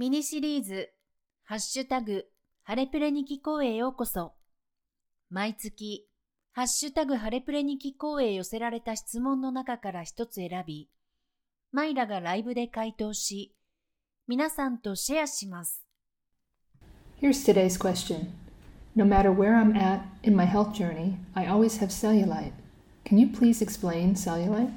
ミニシリーズ、ハッシュタグ、ハレプレに聞こうへようこそ。毎月、ハッシュタグハレプレに聞こうへ寄せられた質問の中から一つ選び、マイラがライブで回答し、皆さんとシェアします。 Here's today's question. No matter where I'm at in my health journey, I always have cellulite. Can you please explain cellulite?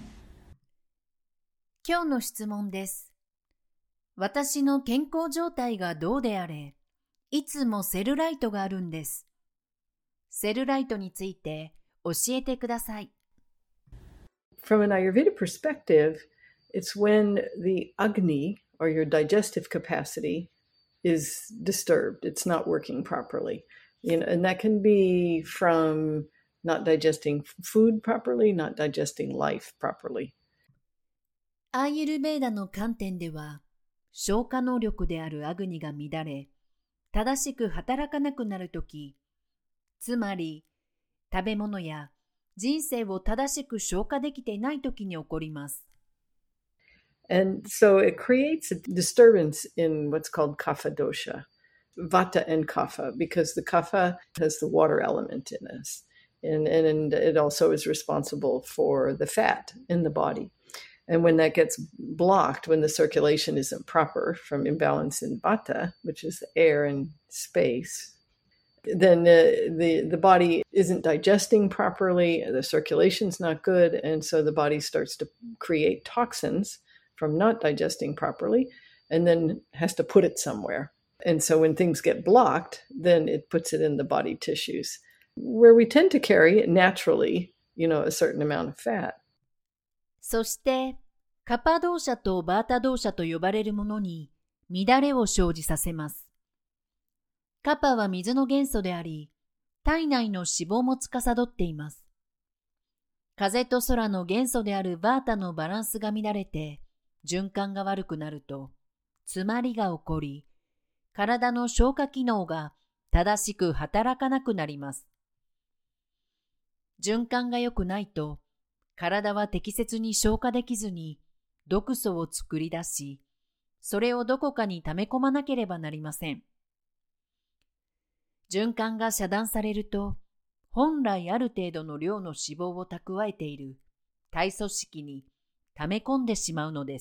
今日の質問です。私の健康状態がどうであれ、いつもセルライトがあるんです。セルライトについて教えてください。 From an Ayurveda perspective, it's when the Agni, or your digestive capacity, is disturbed. It's not working properly. And that can be from not digesting food properly, not digesting life properly. アーユルヴェーダの観点では、消化能力であるアグニが乱れ、正しく働かなくなるとき、つまり食べ物や人生を正しく消化できていないときに起こります。 And so it creates a disturbance in what's called kapha dosha, vata and kapha, because the kapha has the water element in this. And it also is responsible for the fat in the body. And when that gets blocked, when the circulation isn't proper from imbalance in vata, which is air and space, then the body isn't digesting properly, the circulation's not good, and so the body starts to create toxins from not digesting properly, and then has to put it somewhere. And so when things get blocked, then it puts it in the body tissues, where we tend to carry naturally, a certain amount of fat. そして、カパ動作とバータ動作と呼ばれるものに乱れを生じさせます。カパは水の元素であり、体内の脂肪も司っています。風と空の元素であるバータのバランスが乱れて、循環が悪くなると、詰まりが起こり、体の消化機能が正しく働かなくなります。循環が良くないと、体は適切に消化できずに毒素を作り出し、それをどこかに溜め込まなければなりません。循環が遮断されると、本来ある程度の量の脂肪を蓄えている体組織に溜め込んでしまうのです。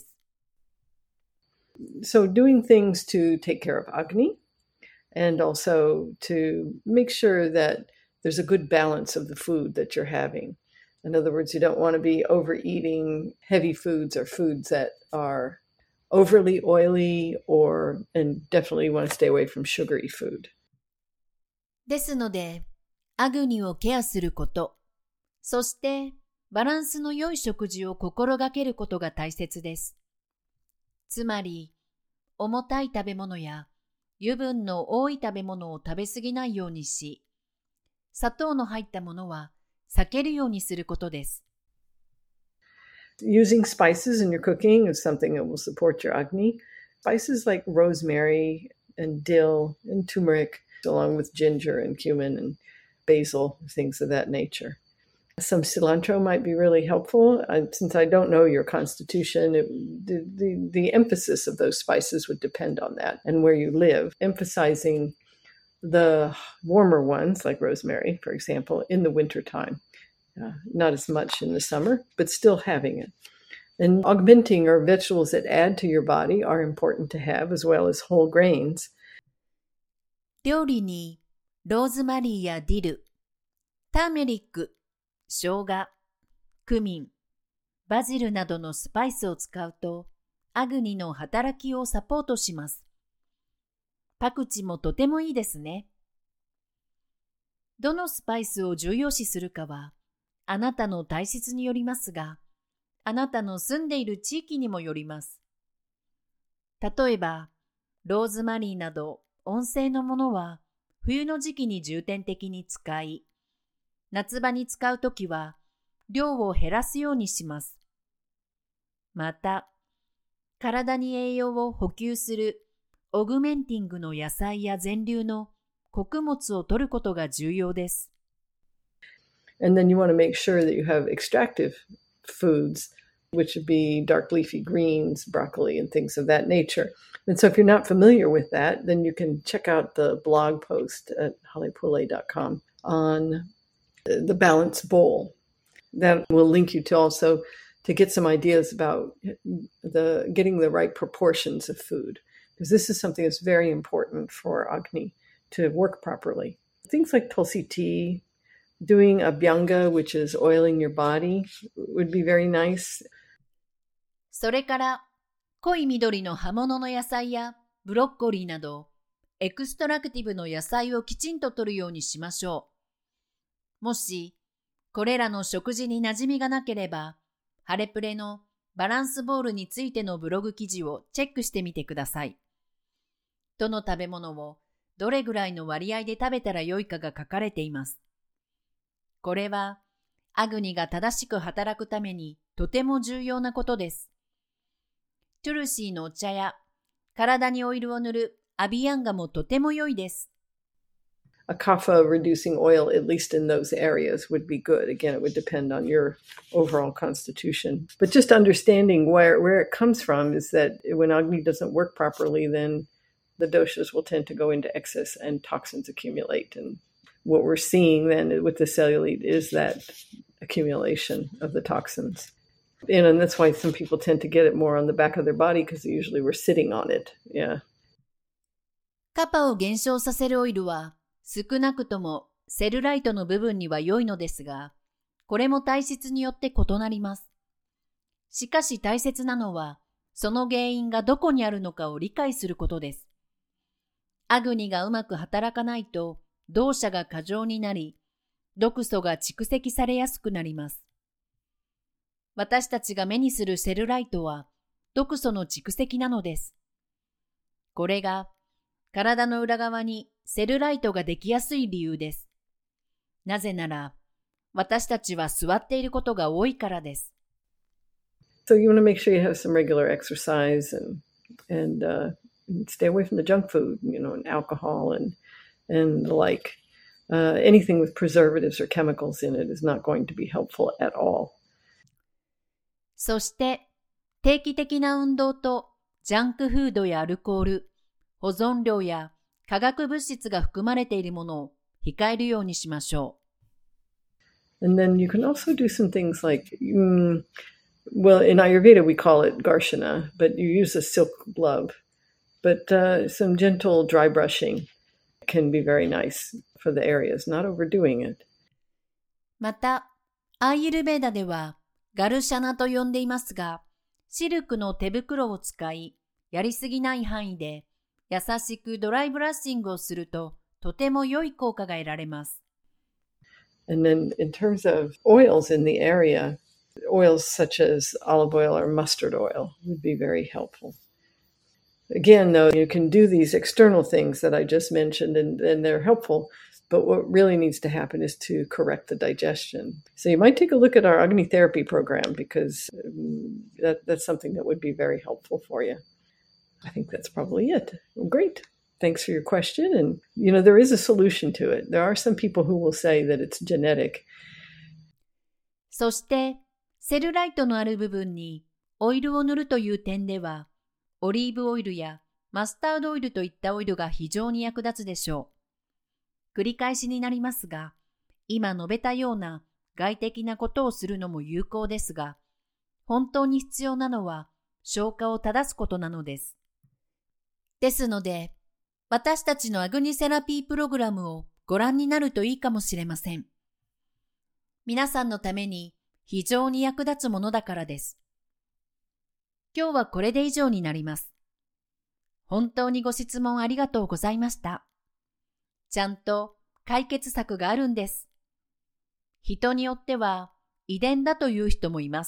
So doing things to take care of Agni, and also to make sure that there's a good balance of the food that you're having. In other words, you don't want to be overeating heavy foods or foods that are overly oily, and definitely want to stay away from sugary food. ですので、アグニをケアすること、そしてバランスの良い食事を心がけることが大切です。つまり、重たい食べ物や油分の多い食べ物を食べ過ぎないようにし、砂糖の入ったものは避けるようにすることです。 Using spices in your cooking is something that will support your Agni. Spices like rosemary and dill and turmeric, along with ginger and cumin and basil, things of that nature. Some cilantro might be really helpful. Since I don't know your constitution, the emphasis of those spices would depend on that and where you live, emphasizing the warmer ones, like rosemary, for example, in the wintertime. Not as much in the summer, but still having it. And augmenting or vegetables that add to your body are important to have, as well as whole grains. 料理にローズマリーやディル、ターメリック、生姜、クミン、バジルなどのスパイスを使うと、アグニの働きをサポートします。パクチもとてもいいですね。どのスパイスを重要視するかは、あなたの体質によりますが、あなたの住んでいる地域にもよります。例えば、ローズマリーなど温性のものは冬の時期に重点的に使い、夏場に使うときは量を減らすようにします。また、体に栄養を補給するオグメンティングの野菜や全粒の穀物を摂ることが重要です。 And then you want to make sure that you have extractive foods which would be dark leafy greens, broccoli, and things of that nature. And so if you're not familiar with that, then you can check out the blog post at halepule.com on the balanced bowl. That will link you to also to get some ideas about getting the right proportions of food, because this is something that's very important for Agni to work properly. Things like Tulsi tea, doing abhyanga, which is oiling your body, would be very nice. それから、濃い緑の葉物の野菜やブロッコリーなど、エクストラクティブの野菜をきちんと摂るようにしましょう。もし、これらの食事に馴染みがなければ、ハレプレのバランスボールについてのブログ記事をチェックしてみてください。どの食べ物をどれぐらいの割合で食べたらよいかが書かれています。これは、アグニが正しく働くためにとても重要なことです。トゥルシーのお茶や体にオイルを塗るアビヤンガもとても良いです。 A kapha reducing oil, at least in those areas, would be good. Again, it would depend on your overall constitution. But just understanding where it comes from is that when Agni doesn't work properly, then the doshas will tend to go into excess and toxins accumulate. And what we're seeing then with the cellulite is that accumulation of the toxins. And that's why some people tend to get it more on the back of their body because usually we're sitting on it. Yeah. カパを減少させるオイルは少なくともセルライトの部分には良いのですが、これも体質によって異なります。しかし大切なのは、その原因がどこにあるのかを理解することです。アグニがうまく働かないと、動作が過剰になり、毒素が蓄積されやすくなります。私たちが目にするセルライトは毒素の蓄積なのです。これが体の裏側にセルライトができやすい理由です。なぜなら、私たちは座っていることが多いからです。 So you want to make sure you have some regular exercise and stay away from the junk food, and alcohol and the like. Anything with preservatives or chemicals in it is not going to be helpful at all. そして、定期的な運動とジャンクフードやアルコール、保存料や化学物質が含まれているものを控えるようにしましょう。And then you can also do some things like, well, in Ayurveda we call it Garshana, but you use a silk glove. But some gentle dry brushing can be very nice for the areas, not overdoing it. また、アーユルベーダではガルシャナと呼んでいますが、シルクの手袋を使い、やりすぎない範囲で優しくドライブラッシングをするととても良い効果が得られます。 And then in terms of oils in the area, oils such as olive oil or mustard oil would be very helpful. Again, though, you can do these external things that I just mentioned and they're helpful, but what really needs to happen is to correct the digestion. So you might take a look at our Agni therapy program because that's something that would be very helpful for you. I think that's probably it. Well, great. Thanks for your question. And, there is a solution to it. There are some people who will say that it's genetic. そして、セルライトのある部分にオイルを塗るという点では、オリーブオイルやマスタードオイルといったオイルが非常に役立つでしょう。繰り返しになりますが、今述べたような外的なことをするのも有効ですが、本当に必要なのは消化を正すことなのです。ですので、私たちのアグニセラピープログラムをご覧になるといいかもしれません。皆さんのために非常に役立つものだからです。今日はこれで以上になります。本当にご質問ありがとうございました。ちゃんと解決策があるんです。人によっては遺伝だという人もいます。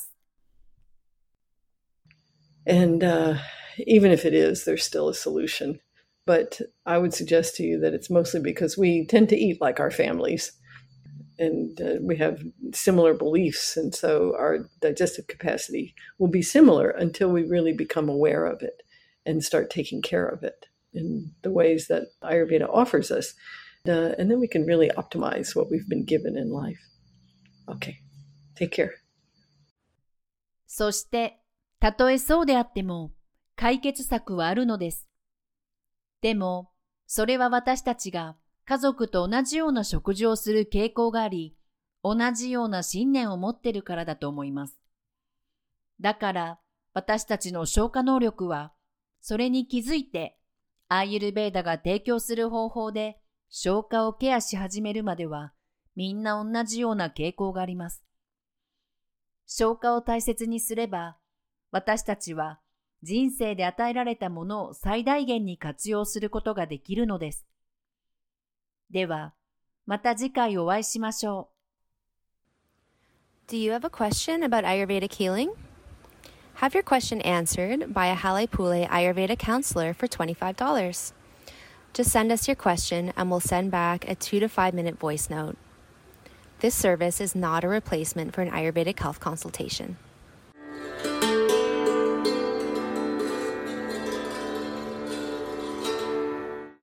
And even if it is, there's still a solution. But I would suggest to you that it's mostly because we tend to eat like our families. And we have similar beliefs. And so our digestive capacity will be similar until we really become aware of it and start taking care of it in the ways that Ayurveda offers us. And then we can really optimize what we've been given in life. Okay. Take care. そして、たとえそうであっても、解決策はあるのです。でも、それは私たちが家族と同じような食事をする傾向があり、同じような信念を持っているからだと思います。だから、私たちの消化能力は、それに気づいて、アーユルヴェーダが提供する方法で消化をケアし始めるまでは、みんな同じような傾向があります。消化を大切にすれば、私たちは人生で与えられたものを最大限に活用することができるのです。では、また次回お会いしましょう。Do you have a question about Ayurvedic healing? Have your question answered by a Halepule Ayurveda counselor for $25. Just send us your question and we'll send back a 2 to 5 minute voice note. This service is not a replacement for an Ayurvedic health consultation.